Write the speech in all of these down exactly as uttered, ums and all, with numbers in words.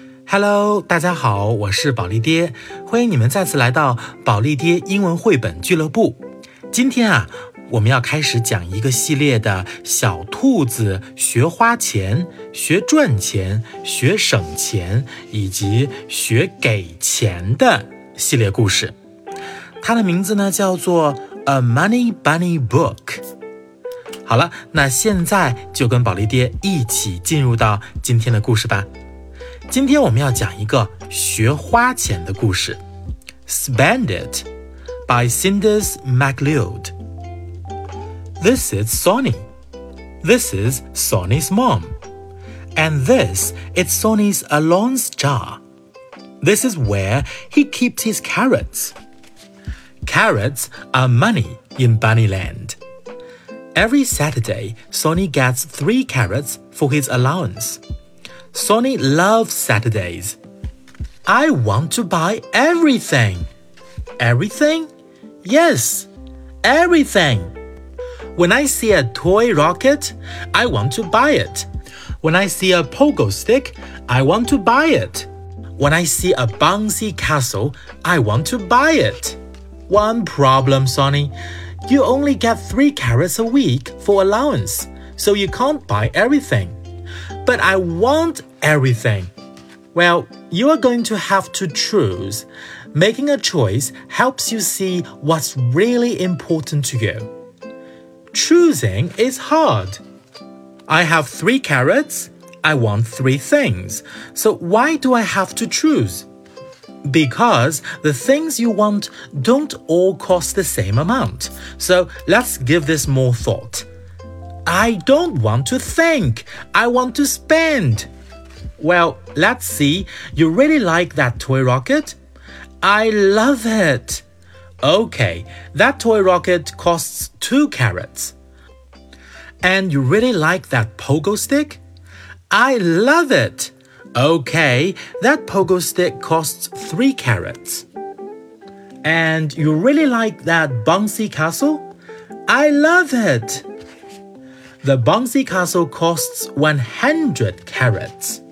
Hello， 大家好，我是宝利爹，欢迎你们再次来到宝利爹英文绘本俱乐部。今天啊，我们要开始讲一个系列的小兔子学花钱、学赚钱、学省钱以及学给钱的系列故事。它的名字呢叫做 A Money Bunny Book。好了，那现在就跟宝利爹一起进入到今天的故事吧。今天我们要讲一个学花钱的故事 Spend It by Cinders McLeod. This is Sonny. This is Sonny's mom. And this is Sonny's allowance jar. This is where he keeps his carrots. Carrots are money in Bunnyland. Every Saturday, Sonny gets three carrots for his allowance.Sonny loves Saturdays. I want to buy everything. Everything? Yes, everything. When I see a toy rocket, I want to buy it. When I see a pogo stick, I want to buy it. When I see a bouncy castle, I want to buy it. One problem, Sonny. You only get three carrots a week for allowance, so you can't buy everything.But I want everything. Well, you are going to have to choose. Making a choice helps you see what's really important to you. Choosing is hard. I have three carrots. I want three things. So why do I have to choose? Because the things you want don't all cost the same amount. So let's give this more thought.I don't want to think. I want to spend. Well, let's see. You really like that toy rocket? I love it. Okay, that toy rocket costs two carrots. And you really like that pogo stick? I love it. Okay, that pogo stick costs three carrots. And you really like that bouncy castle? I love it.The bouncy castle costs one hundred carrots.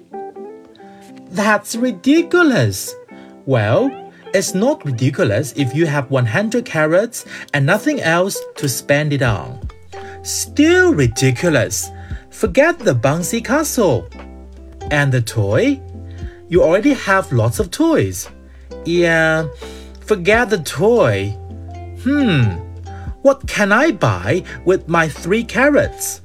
That's ridiculous. Well, it's not ridiculous if you have one hundred carrots and nothing else to spend it on. Still ridiculous. Forget the bouncy castle. And the toy? You already have lots of toys. Yeah, forget the toy. Hmm.What can I buy with my three carrots?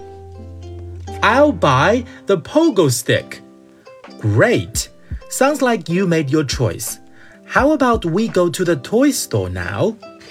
I'll buy the pogo stick. Great. Sounds like you made your choice. How about we go to the toy store now?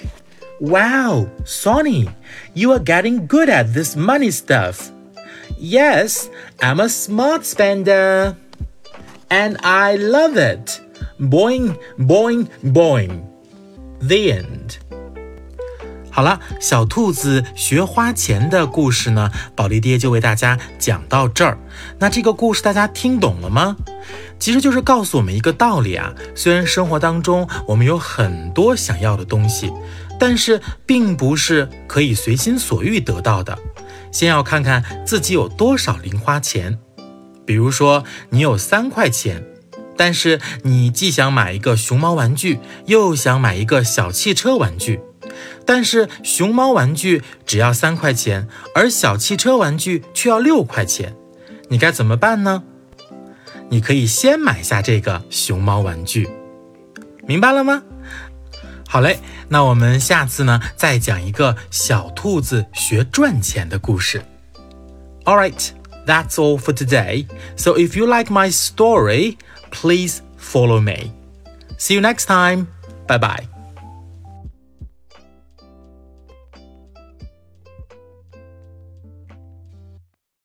Wow, Sonny, you are getting good at this money stuff. Yes, I'm a smart spender. And I love it. Boing, boing, boing. The end.好了，小兔子学花钱的故事呢，宝利爹就为大家讲到这儿。那这个故事大家听懂了吗？其实就是告诉我们一个道理啊，虽然生活当中我们有很多想要的东西，但是并不是可以随心所欲得到的。先要看看自己有多少零花钱。比如说你有三块钱，但是你既想买一个熊猫玩具，又想买一个小汽车玩具，但是熊猫玩具只要三块钱，而小汽车玩具却要六块钱，你该怎么办呢？你可以先买下这个熊猫玩具，明白了吗？好嘞，那我们下次呢再讲一个小兔子学赚钱的故事。All right, that's all for today. So if you like my story, please follow me. See you next time. Bye bye.